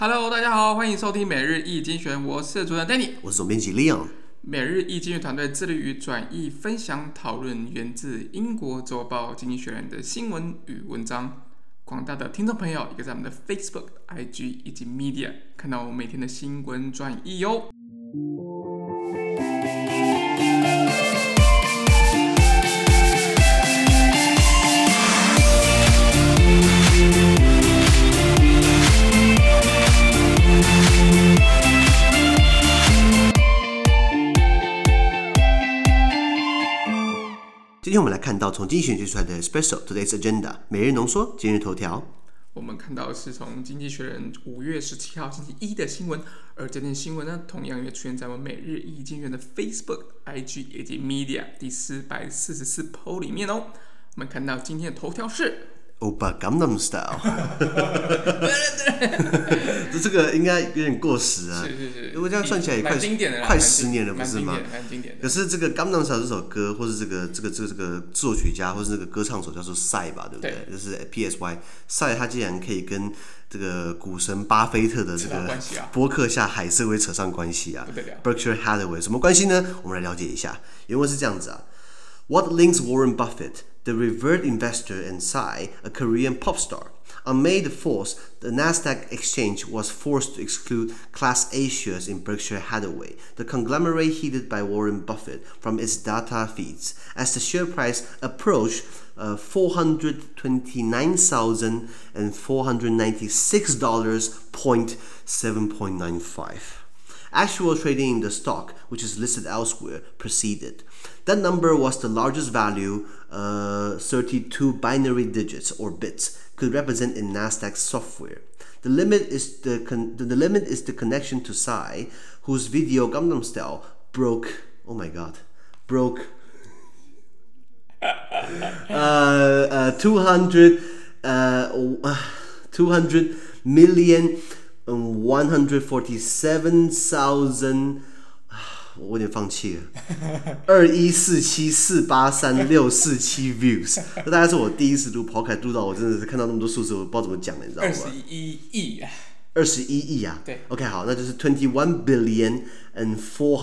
Hello， 大家好，歡迎收聽每日一精選，我是主持人 Danny， 我是總編輯 Leon。 每日一精選團隊致力於轉譯、分享、討論源自英國週報《經濟學人》的新聞與文章。廣大的聽眾朋友，也可以在我們的 Facebook、IG 以及 Media 看到我們每天的新聞轉譯喲。 今天我們來看到從經濟學人寫出來的 Espresso Today's Agenda 每日濃縮今日頭條。 我們看到的是從經濟學人5月17號星期一的新聞，而這篇新聞呢，同樣也出現在我們每日一精選的 Facebook、IG 以及 Media 第444 po 裡面哦。我們看到今天的頭條是 Oppa Gangnam Style 這個應該有點過時啊， 是， 如果這樣算起來也快10年了，不是嗎？ 蠻經典的。 可是這個 Gangnam Style 這首歌，或是這個作曲家，或是那個歌唱手叫做 Psy 吧，对不对？就是 PSY Psy， 他竟然可以跟這個股神巴菲特的這個波克夏海瑟薇扯上關係啊 ，Berkshire Hathaway 什麼關係呢？我們來了解一下。原文是這樣子啊 ：What links Warren Buffett?The revered investor and Psy, a Korean pop star. On May 4th, the Nasdaq exchange was forced to exclude Class A shares in Berkshire Hathaway, the conglomerate headed by Warren Buffett, from its data feeds, as the share price approached $429,496.7.95. Actual trading in the stock, which is listed elsewhere, proceeded. That number was the largest value, 32 binary digits or bits, could represent in Nasdaq software. The limit is the connection to Psy, whose video Gangnam Style broke 200 million 147,000， 我有點放棄了。2147483647 views， 這大概是我第一次錄 podcast 錄到，我真的是看到那麼多數字，我不知道怎麼講了，你知道嗎 ？21億。 21億啊！ 對 ，OK， 好，那就是21 billion and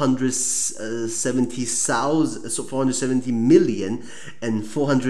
470 million and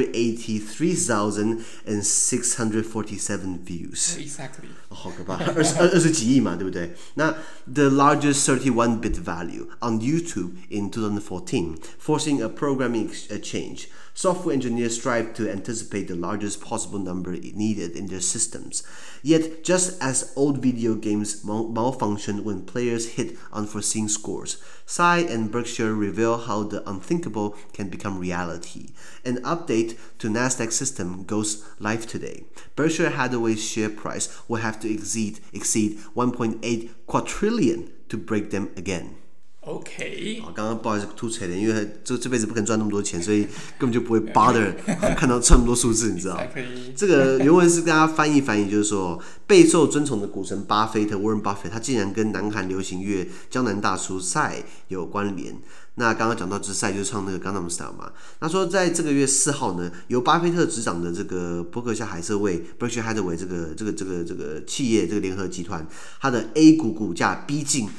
483,647 views. Exactly. 好可怕，20幾億嘛，對不對？那 the largest 31-bit value on YouTube in 2014, forcing a programming change. Software engineers strive to anticipate the largest possible number needed in their systems. Yet, just as old video games malfunction when players hit unforeseen scores, Psy and Berkshire reveal how the unthinkable can become reality. An update to Nasdaq system goes live today. Berkshire Hathaway's share price will have to exceed 1.8 quadrillion to break them again.OK， 刚剛不好意思吐槽了，因為這輩子不可能賺那麼多錢，所以根本就不會 bother 看到這麼多數字，你知道？這個原文是跟大家翻譯，就是說備受尊崇的股神巴菲特 Warren Buffett， 他竟然跟南韓流行樂江南大叔 Psy 有關聯。那剛剛講到Psy就是唱那個 Gangnam Style 嘛。他說在這個月4號呢，由巴菲特執掌的這個波克夏海瑟薇 Berkshire Hathaway 這個企業這個聯合集團，它的 A 股股價逼近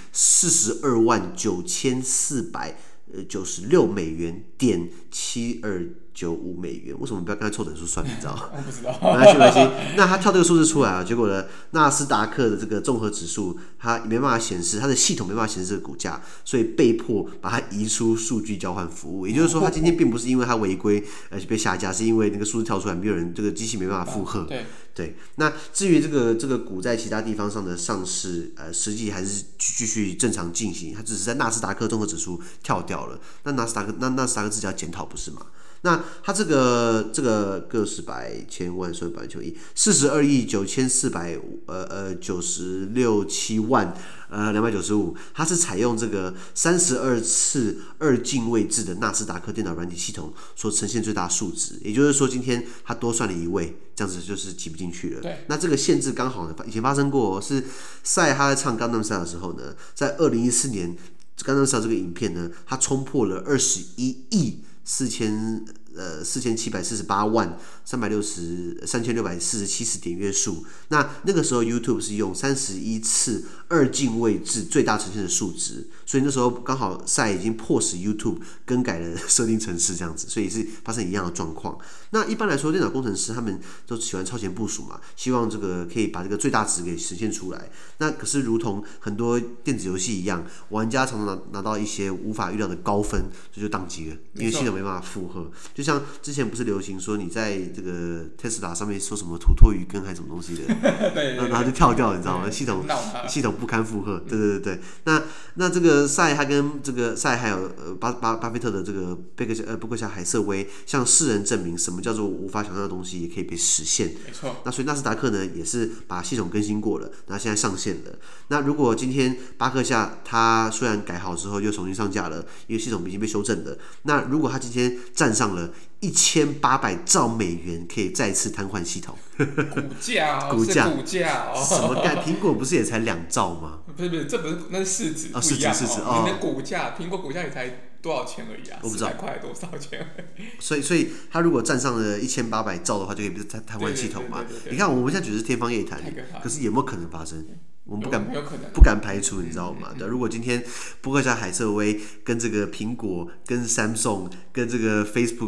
$429,496.7295，為什麼不要跟他湊整數算？你知道嗎？ 我不知道。 沒關係。那他跳這個數字出來啊，結果呢，納斯達克的這個綜合指數，它沒辦法顯示，它的系統沒辦法顯示這個股價，所以被迫把它移出數據交換服務。也就是說，它今天並不是因為它違規而被下架，是因為那個數字跳出來，沒有人這個機器沒辦法負荷。對。那至於這個股在其他地方上的上市，實際還是繼續正常進行，它只是在納斯達克綜合指數跳掉了。那納斯達克自己要檢討不是嗎？那他這個個十百千萬所以百千億42億9496.7萬295，它是採用這個32次二進位制的納斯達克電腦軟體系統所呈現最大數值，也就是說今天它多算了1位，這樣子就是擠不進去了。那這個限制剛好呢，以前發生過，是Psy他在唱 Gangnam Style 的時候呢，在2014年 Gangnam Style 這個影片呢，它衝破了21億 47483647次點閱數。那個時候 YouTube 是用31次2進位制最大呈現的數值，所以那時候剛好賽已經迫使 YouTube 更改了設定程式這樣子，所以是發生一樣的狀況。那一般來說，電腦工程師他們都喜歡超前部署嘛，希望這個可以把這個最大值給實現出来。那可是如同很多電子遊戲一樣，玩家常常拿到一些無法預料的高分，所以就宕機了，因為系統沒辦法負荷。就像之前不是流行說你在這個 Tesla 上面說什麼土托魚羹還是什麼東西的，然後就跳掉，你知道嗎？系統不堪負荷。对。那這個賽他跟這個赛還有巴菲特的這個伯克夏海瑟薇向世人證明什麼叫做無法想象的東西也可以被實現。 沒錯。 那所以納斯達克呢也是把系統更新過了，那現在上線了。那如果今天巴克夏他雖然改好之後又重新上架了，因為系統已經被修正了，那如果他今天站上了1800兆美元，可以再次癱瘓系統。股價什麼概？蘋果不是也才2兆嗎？ 不是，這不是，那是市值不一樣你的股價，蘋果股價也才多少錢而已啊？ 我不知道 400塊多少錢而已。 所以他如果站上了1800兆的话，就可以瘫瘓系統嘛？你看我們現在觉得是天方夜譚，可是有没有可能发生？我们不敢排除，你知道吗？如果今天伯克夏海瑟薇跟这个苹果、跟 Samsung、跟这个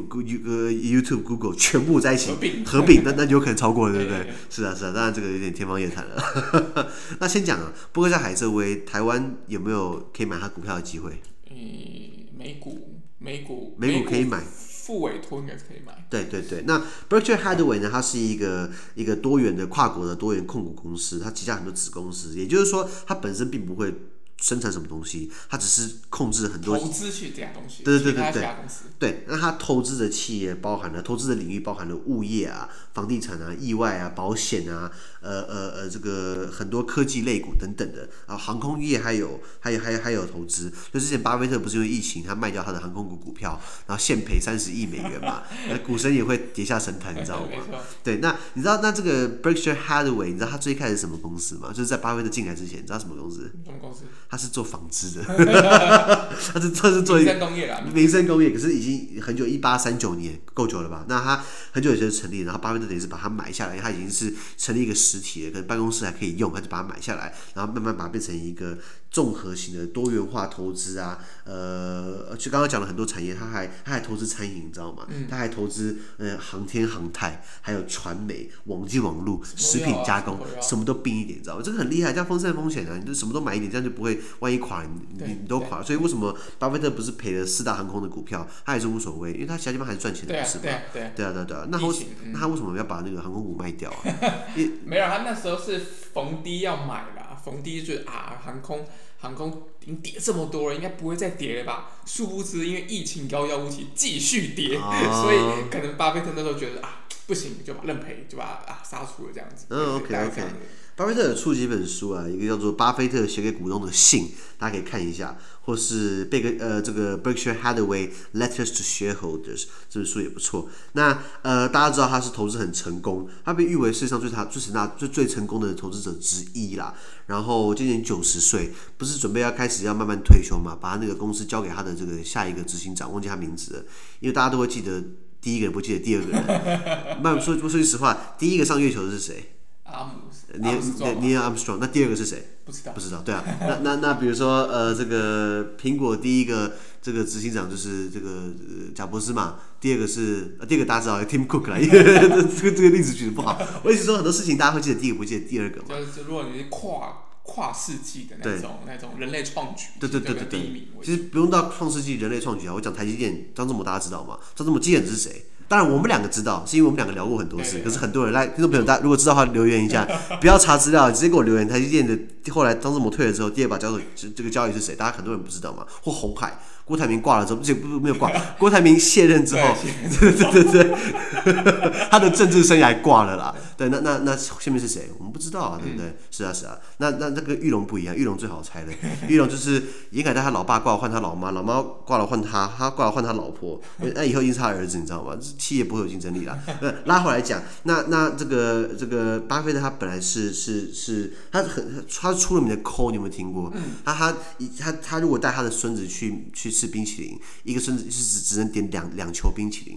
Facebook、YouTube、Google 全部在一起合并，那有可能超过了，对不对？是啊，当然这个有點天方夜譚了。那先講啊，伯克夏海瑟薇，台灣有沒有可以買他股票的機會？ 美股可以買。 副委託應該是可以買。 對，那 Berkshire Hathaway 呢？它是一個多元的跨國的多元控股公司，它旗下很多子公司，也就是說，它本身並不會生產什麼東西，它只是控制很多投資去這樣東西。 對，那它投資的企業包含了投資的領域包含了物業啊、房地產啊、意外啊、保險啊，這個很多科技類股等等的啊，航空業還有投資。就之前巴菲特不是因為疫情，他賣掉他的航空股票，然後現賠30億美元嘛，股神也會跌下神壇，你知道嗎？對，那你知道那這個 Berkshire Hathaway，你知道他最開始是什麼公司嗎？就是在巴菲特進來之前，你知道什麼公司？ 什麼公司？ 他是做紡織的，他是做民生工業啦。 民生工業，可是已經很久，1839年，夠久了吧？那他很久以前就成立，然後巴菲特等於是把它買下來，他已經是成立一個實體了，可能辦公室還可以用，他就把它買下來，然後慢慢把它變成一個綜合型的多元化投資啊。就剛剛講了很多產業，他還投資餐飲，你知道嗎？他還投資航天航太，還有傳媒、網際網路、食品加工，什麼都併一點，你知道嗎？這個很厲害，這樣分散風險啊，你就什麼都買一點，這樣就不會萬一垮，你都垮了。所以為什麼巴菲特不是賠了4大航空的股票，他也是無所謂，因為他其他地方還是賺錢的，不是嗎？對啊。那他為什麼要把那個航空股賣掉啊？ 沒有，他那時候是逢低要買啦，逢低就覺得航空已經跌這麼多了，應該不會再跌了吧？殊不知因為疫情遙遙無期，繼續跌，所以可能巴菲特那時候覺得不行，就把認賠，就把殺出了這樣子。 OK。巴菲特有出幾本書啊，一個叫做《巴菲特寫給股東的信》，大家可以看一下，或是這個 Berkshire Hathaway Letters to Shareholders 這本書也不錯。那大家知道他是投資很成功，他被譽為世界上最成功的投資者之一啦。然後今年90歲，不是準備要開始要慢慢退休嘛？把他那個公司交給他的這個下一個執行長，忘記他名字了，因為大家都會記得第一個人，不記得第二個人。說句實話，第一個上月球的是誰？Neil Armstrong， 那第二個是誰？不知道，對啊。那比如說這個蘋果第一個這個執行長就是這個賈伯斯嘛，第二個大家知道 Tim Cook 啦，因為這個例子舉得不好。我意思說很多事情大家會記得第一個，不記得第二個嘛。 就是如果你是跨世紀的那種人類創舉， 對，第一名。其實不用到創世紀人類創舉啊，我講台積電張志謀大家知道嗎？張志謀基本是誰？當然，我們兩個知道，是因為我們兩個聊過很多次。可是很多人來，聽眾朋友，大家如果知道的話，留言一下，不要查資料，直接給我留言。台積電的後來張志謀退了之後，第二把交椅這個交椅是誰？大家很多人不知道嘛。或鴻海，郭台銘掛了之後，沒有掛，郭台銘卸任之後，對，他的政治生涯掛了啦。對，那下面是誰？我們不知道啊，對不對？是啊。那個玉龍不一樣，玉龍最好猜的。玉龍就是嚴凱泰他老爸掛了換他老媽，老媽掛了換他掛了換他老婆。那以後一定是他兒子，你知道嗎？企業不會有競爭力啦。拉回來講，那這個巴菲特他本來是他出了名的摳，你有沒有聽過？他如果帶他的孫子去吃冰淇淋，一個孫子是只能點兩球冰淇淋。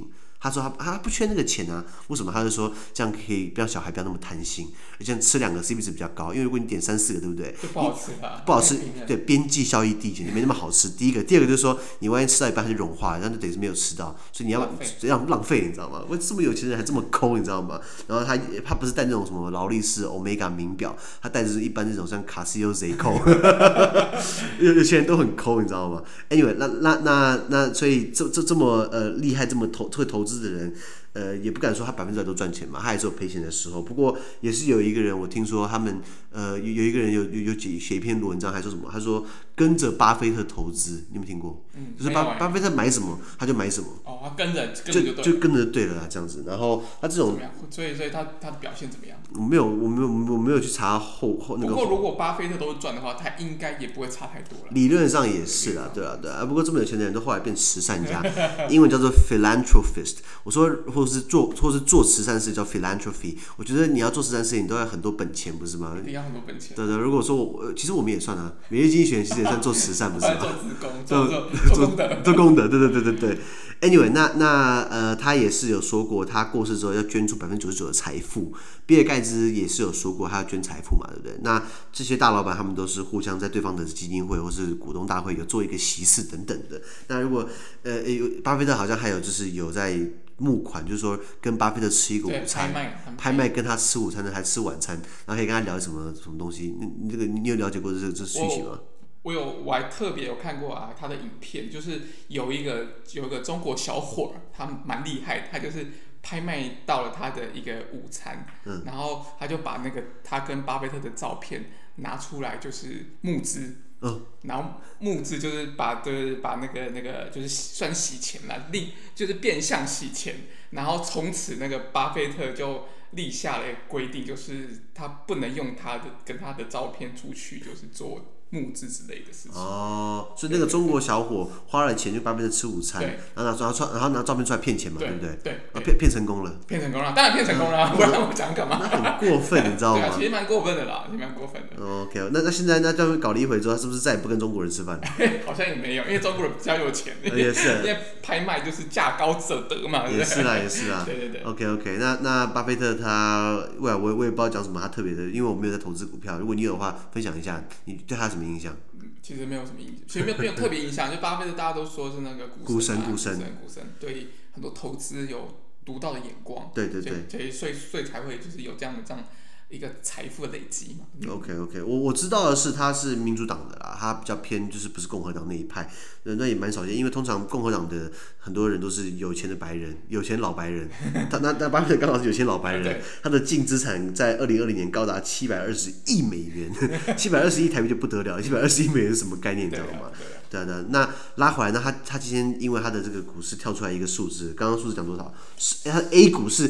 他說他不缺那個錢啊，為什麼？他就說這樣可以讓小孩不要那麼貪心，而且吃2個 CP 值比較高，因為如果你點3、4個，對不对？ 就不好吃吧？ 不好吃，對，邊際效益递減，沒那麼好吃。第一個，第二個就是說，你萬一吃到一半它就融化了，那就等於是沒有吃到，所以你要浪費，你知道嗎？我這麼有錢人還這麼摳，你知道嗎？然後他不是戴那種什麼勞力士、Omega 名錶，他戴的是一般那種像 Casio Seiko， 有錢人都很摳，你知道嗎 ？Anyway， 那所以這麼厲害，這麼會投資的人。也不敢說他100%都賺錢嘛，他也是有賠錢的時候。不過也是有一個人，我聽說他們有一個人有寫一篇文章，還說什麼？他說跟着巴菲特投資，你有沒有聽過？就是巴菲特買什麼他就買什麼。哦，他跟着就跟着对了啦，這樣子。然後他這種， 所以他的表現怎麼樣？ 我沒有去查後那個。 不过如果巴菲特都是賺的話，他應該也不會差太多了。 理論上也是啦，对啊。不過這麼有錢的人都後來變慈善家，英文叫做 philanthropist。我說或是做慈善事叫 philanthropy。我覺得你要做慈善事情，你都要很多本錢，不是嗎？ 你要很多本錢。 对。如果說其實我们也算啊，每日經濟學人其實也算做慈善，不是嗎？做功德，对。Anyway， 那他也是有說過，他過世之後要捐出99%的財富。比爾蓋茨也是有說過，他要捐財富嘛，對不對？那這些大老闆他們都是互相在對方的基金會或是股東大會有做一個席次等等的。那如果巴菲特好像還有就是有在募款，就是說跟巴菲特吃一個午餐，拍賣跟他吃午餐的還吃晚餐，然後可以跟他聊什麼東西。你有了解過這訊息嗎？ 我還特別有看過啊，他的影片，就是有一個中國小伙，他蠻厲害的，他就是拍賣到了他的一個午餐，然後他就把那個他跟巴菲特的照片拿出來，就是募資，然後募資就是把那個就是算洗錢啦，就是變相洗錢，然後從此那個巴菲特就立下了規定，就是他不能用跟他的照片出去，就是做募資之類的事情。 所以那個中國小伙花了錢就巴菲特吃午餐，然後拿照片出來騙錢嘛，對不對？對。騙成功了。騙成功了， 當然騙成功了，不然我講幹嘛？ 那很過分，你知道嗎？ 對啊，其實蠻過分的啦，也蠻過分的。 OK， 那現在這樣搞了一回之後，他是不是再也不跟中國人吃飯？ 好像也沒有，因為中國人比較有錢。 也是。 因為拍賣就是價高者得嘛。 也是啦。 对。 OK， 那巴菲特他我也不知道講什麼他特別的，因為我沒有在投資股票。如果你有的話，分享一下，你對他什麼印象？ 其實沒有什麼印象，其實沒有特別印象。就巴菲特大家都說是那個股神，對很多投資有獨到的眼光。對。所以才會就是有這樣一個財富的累積嘛。 OK， 我知道的是他是民主黨的啦，他比較偏就是不是共和黨那一派，那也蠻少見，因為通常共和黨的很多人都是有錢的白人，有錢老白人。那巴菲特剛好是有錢老白人，他的淨資產在2020年高達720億美元，720億台幣就不得了，720億美元是什麼概念，你知道嗎？对。那拉回來，那他今天因為他的這個股市跳出來一個數字，剛剛數字講多少？他 A 股是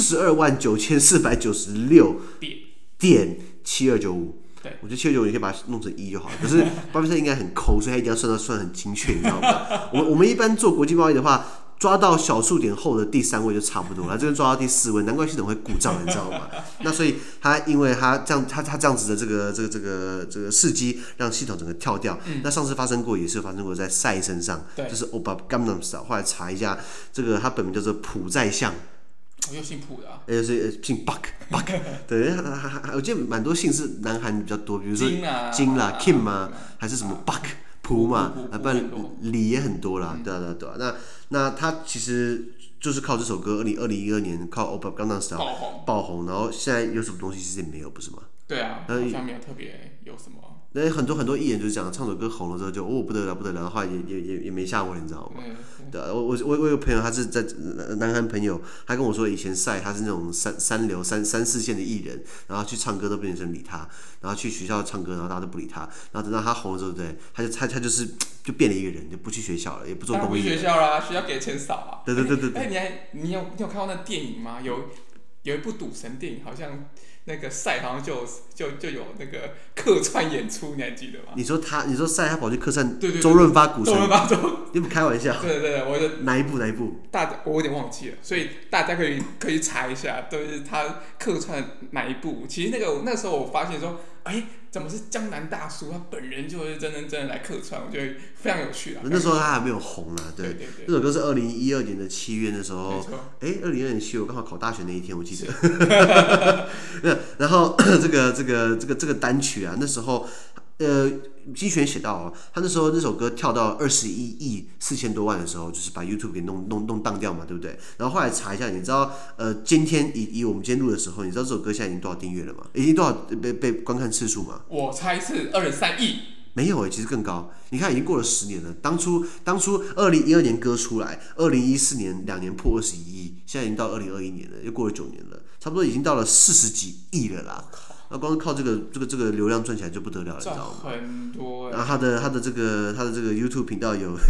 429496點7295。對，我覺得7295你可以把它弄成1就好了。可是巴菲特應該很摳，所以他一定要算很精確，你知道嗎？我們一般做國際貿易的話，抓到小數點後的第3位就差不多了，這邊抓到第4位，難怪系統會故障，你知道嗎？那所以因為他這樣子的這個事蹟，讓系統整個跳掉。那上次發生過，也是發生過在賽身上，就是 Oppa Gangnam Style。後來查一下，這個他本名叫做朴在相。 又姓朴的啊？ 是姓 Buck。對，我記得蠻多姓是南韓比較多，比如說金啦、Kim 啊，還是什麼 Buck 朴嘛，不然李也很多啦。對啊。那他其實就是靠這首歌，2012年靠 Oppa Gangnam Style 爆紅，然後現在有什麼東西其實也沒有，不是嗎？對啊，好像沒有特別有什麼。那很多藝人就是講，唱首歌紅了之後就不得了，然後後來也沒下文，你知道嗎？對啊，我有個朋友，他是在南韓朋友，他跟我說以前賽他是那種三流3、4線的藝人，然後去唱歌都不有人理他，然後去學校唱歌，然後大家都不理他，然後等到他紅了之後，對，他就變了一個人，就不去學校了，也不做公益。不去學校啦，學校給的錢少啊。對。你有看過那電影嗎？有一部賭神電影，好像。那個賽好像就有那個客串演出，你還記得嗎？你說賽他跑去客串周潤發股神，你不開玩笑？對，我就哪一部？我有點忘記了，所以大家可以查一下，都是他客串哪一部。其實那時候我發現說， 怎麼是江南大叔？他本人就是真的来客串，我覺得非常有趣啊。 那時候他還沒有紅啊，对。那首歌是2012年的7月的时候，2012年7月我刚好考大学那一天，我记得。然后这个單曲啊，那時候金學寫到他那時候那首歌跳到21億4000多萬的時候，就是把 YouTube 給弄當掉嘛，對不對？然後後來查一下，你知道今天以我們今天錄的時候，你知道這首歌現在已經多少訂閱了嗎？已經多少被觀看次數嗎？ 我猜是23億。 沒有其實更高。你看，已經過了10年了。當初2012年歌出來，2014年2年破21億，現在已經到2021年了，又過了9年了，差不多已經到了40幾億了啦。那光是靠這個流量賺起來就不得了了，你知道嗎？ 很多。 然後他的這個 YouTube 頻道有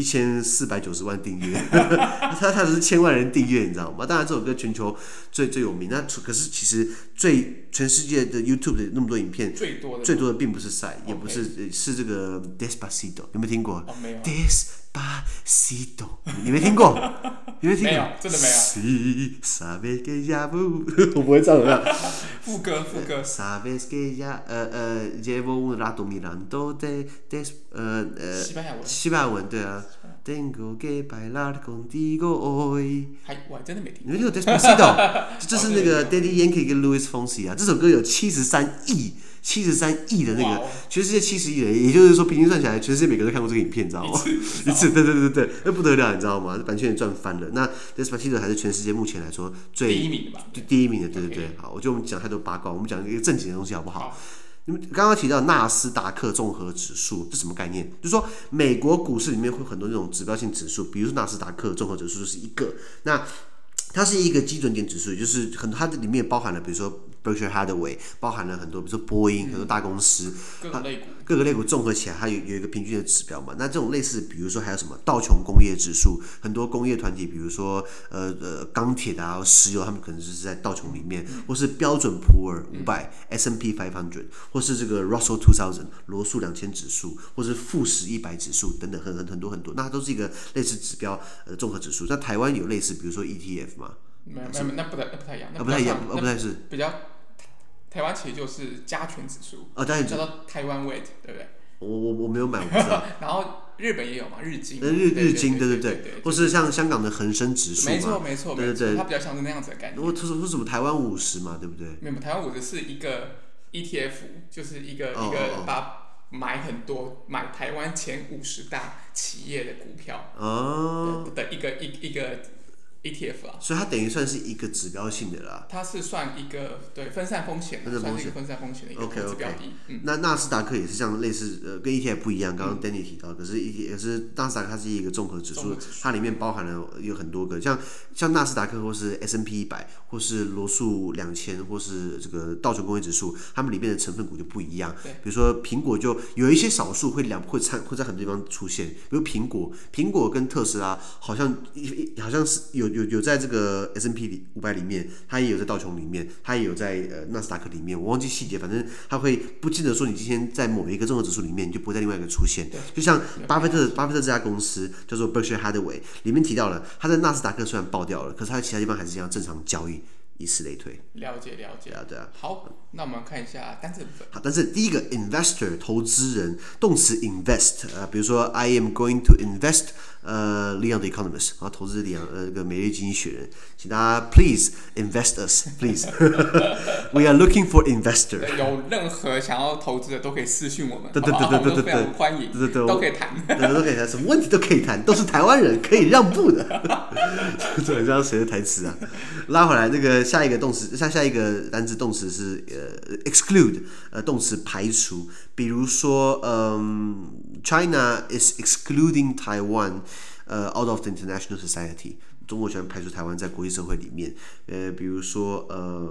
1490萬訂閱，他是1000萬人訂閱，你知道嗎？當然這首歌全球最有名，那可是其實全世界的 YouTube 的那麼多影片，最多的並不是賽，也不是是這個 Despacito， 有沒有聽過？ 沒有。 Despacito， 你沒聽過？沒有，真的沒有。我不會唱的。 副歌。 Sabes que ya llevo un rato mirando de 西班牙文对啊。Tengo que bailar contigo hoy。 我還真的沒聽過。 你沒聽過 Despacito？ 這是那個 Daddy Yankee 跟 Luis Fonsi 啊，這首歌有73億的那個，全世界70億人，也就是說平均算起來，全世界每個人都看過這個影片，你知道嗎？一次，對，那不得了，你知道嗎？版權也賺翻了。那 Despacito 還是全世界目前來說第一名的吧？第一名的，對。好，我覺得我們講太多八卦，我們講一個正經的東西好不好？你們剛剛提到納斯達克綜合指數，這什麼概念？就是說美國股市裡面會有很多那種指標性指數，比如說納斯達克綜合指數就是一個，那它是一個基準點指數，就是很多它裡面包含了，比如說Berkshire Hathaway， 包含了很多，比如說波音，很多大公司，各個類股綜合起來，它有一個平均的指標嘛。那這種類似，比如說還有什麼道瓊工業指數，很多工業團體，比如說鋼鐵的啊、石油，他們可能就是在道瓊裡面，或是標準普爾500 S&P 500，或是這個 Russell 2000羅素2000指數，或是富時100指數等等，很多，那它都是一個類似指標綜合指數。那台灣有類似，比如說 ETF 嘛？ 沒有，那不太一樣， 不太是比較。台灣其實就是加權指數，叫做台灣 weight， 對不對？ 我沒有買，我不知道。 然後日本也有嘛，日經。 日經，對，或是像香港的恆生指數嘛， 沒錯，它比較像是那樣子的概念。 或是什麼台灣50嘛，對不對？ 沒有，台灣50是一個 ETF， 就是一個買很多買台灣前50大企業的股票的一個。ETF 啊，所以它等於算是一個指標性的啦。 它是算一個分散風險，算是一個分散風險的一個指標的。 那納斯達克也是像類似跟 ETF 不一樣，剛剛 Danny 提到，可是納斯達克它是一個綜合指數，它裡面包含了有很多個，像納斯達克或是 S&P 100，或是羅素2000，或是這個道瓊工業指數，它們裡面的成分股就不一樣。比如說蘋果就有一些少數會在很多地方出現，比如蘋果跟特斯拉好像是有在這個 S&P 500裡面，它也有在道瓊裡面，它也有在納斯達克裡面，我忘記細節，反正它會不記得說你今天在某一個綜合指數裡面，你就不會在另外一個出現。就像巴菲特這家公司叫做 Berkshire Hathaway， 裡面提到了，它在納斯達克雖然爆掉了，可是它在其他地方還是一樣正常交易。以此類推。 了解。 對啊。 好，那我們看一下單字部分。 好，但是第一個 investor 投資人，動詞 invest，比如說 I am going to invest Leon the Economist， 然後投資個每日經濟學人，請大家 please invest us please， we are looking for investor。 有任何想要投資的都可以私訊我們， 對， 非常歡迎，都可以談， 都可以談，什麼問題都可以談，都是台灣人可以讓步的。這很像誰的台詞啊？拉回來那個。下一個動詞，下一個單字動詞是exclude， 動詞排除。比如說China is excluding Taiwan out of the international society。中國喜歡排除台灣在國際社會裡面。比如說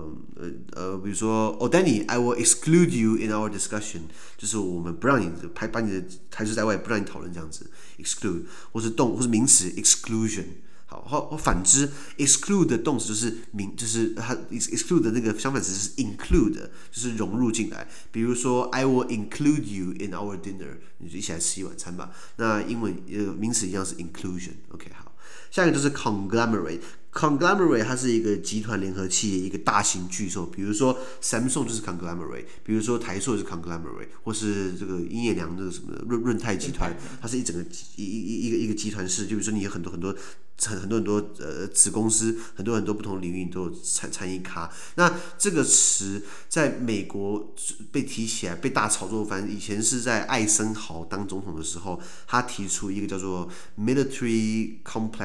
Danny，I will exclude you in our discussion， 就是我們不讓你把你的排除在外，不讓你討論這樣子。exclude， 或是名詞 exclusion。或反之 ，exclude 的動詞就是它 exclude 的那個相反詞是 include， 就是融入進來。比如說 ，I will include you in our dinner， 你就一起來吃一晚餐吧。那英文名詞一樣是 inclusion。OK， 好。 下一個就是 conglomerate。conglomerate 它是一個集團聯合企業，一個大型巨獸，比如說 Samsung 就是 conglomerate， 比如說台塑就是 conglomerate， 或是這個英業良這個什麼潤泰集團，它是一整個一個集團式，就比如說你有很多子公司，很多不同領域都有参与咖。那這個詞在美國被提起來，被大炒作翻。以前是在艾森豪當總統的時候，他提出一個叫做 Military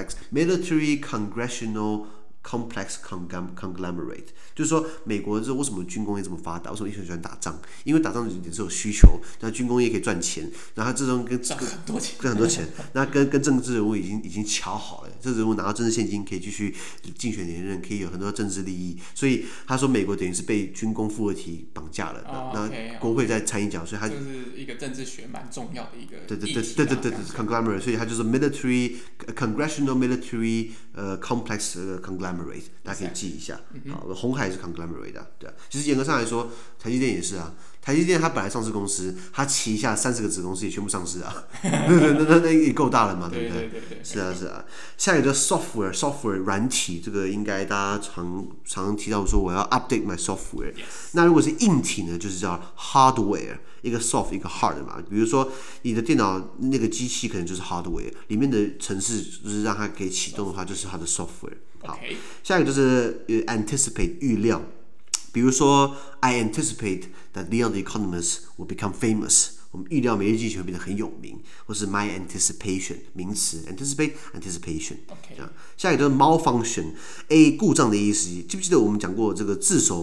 Congressional Complex Conglomerate， 就是說美国这为什麼軍工業這麼發達？為什麼一群人喜歡打仗？因為打仗也是有需求，那軍工業可以賺錢，然後這種跟很多錢，那跟政治人物已經喬好了，這人物拿到政治現金可以繼續競選連任，可以有很多政治利益，所以他說美國等於是被軍工複合體綁架了，那國會在參一腳，所以他就是一個政治學蠻重要的一個對 conglomerate， 所以它就是 Congressional Military Complex Conglomerate， 大家可以记一下。好，鸿海是 conglomerate 的，對啊。其實嚴格上來說，台積電也是啊。台積電它本來上市公司，它旗下30個子公司也全部上市啊，那也夠大了嘛，對不对？是啊。下一個叫 software 軟體，這個應該大家常提到說我要 update my software。那如果是硬體呢，就是叫 hardware， 一個 soft 一個 hard 嘛。比如說你的電腦那個機器可能就是 hardware， 裡面的程式就是讓它可以啟動的話，就是它的 software。好，下一個就是 anticipate 預料。比如說 I anticipate that Leon the Economist will become famous， 我們預料每日經濟學會變得很有名，或是 my anticipation 名詞 anticipation。下一個就是 malfunction， 故障的意思。記不記得我們講過這個字首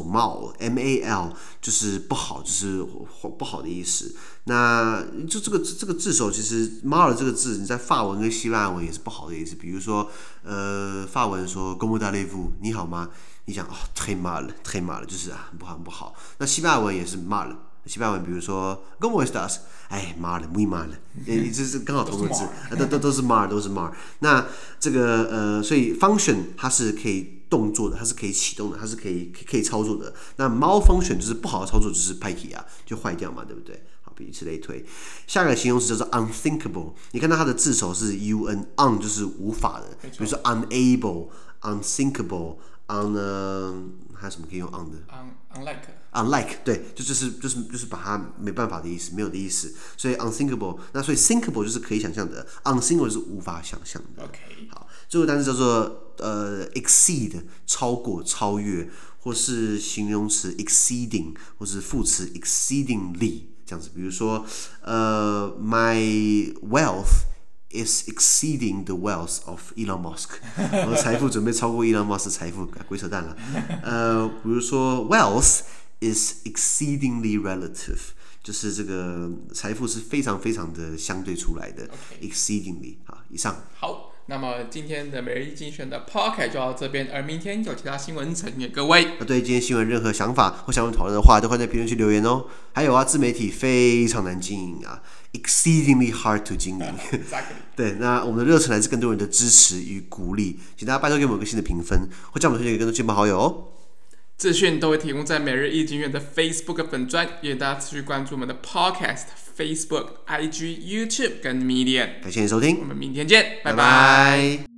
mal 就是不好，就是不好的意思。那就這個字首其實 mal 这個字，你在法文跟希臘文也是不好的意思。比如說法文說 Comment allez-vous 你好嗎？你講très mal， 就是很不好。那西班牙文也是 mal， 西班牙文比如說 ¿Cómo estás？ mal muy mal， 这是剛好同個字，都是 mal。那這個所以 function 它是可以動作的，它是可以啟動的，它是可以操作的。那 malfunction 就是不好的操作，就是歹去啊，就壞掉嘛，對不對？好，以此類推。下一個形容詞叫做 unthinkable， 你看到它的字首是 un 就是無法的，比如說 unable、unthinkable。還有什麼可以用 on 的 ？unlike 對，就是把它沒辦法的意思，沒有的意思。所以 unthinkable， 那所以 thinkable 就是可以想象的 ，unthinkable 就是無法想象的。好，最後單詞叫做exceed， 超過、超越，或是形容詞 exceeding， 或是副詞 exceedingly 這樣子。比如說my wealth。is exceeding the wealth of Elon Musk， 我的財富準備超過 Elon Musk 的財富，鬼扯淡了。比如說 wealth is exceedingly relative， 就是這個財富是非常非常的相對出來的。exceedingly， 好，以上。好， 那麼今天的每日一精選的 podcast 就到這邊，而明天有其他新聞呈給各位。 對今天新聞任何想法或想討論的話，都歡迎在評論區留言哦。還有啊，自媒體非常難經營啊。exceedingly hard to 經營。對，那我們的熱忱來自更多人的支持與鼓勵，請大家拜託給我們一個新的評分，或將我們推薦給更多親朋好友哦。 資訊都會提供在每日一經院的 Facebook 粉專，也大家持續關注我們的 Podcast、Facebook、IG、YouTube 跟 Medium。 感謝你收聽， 我們明天見，拜拜。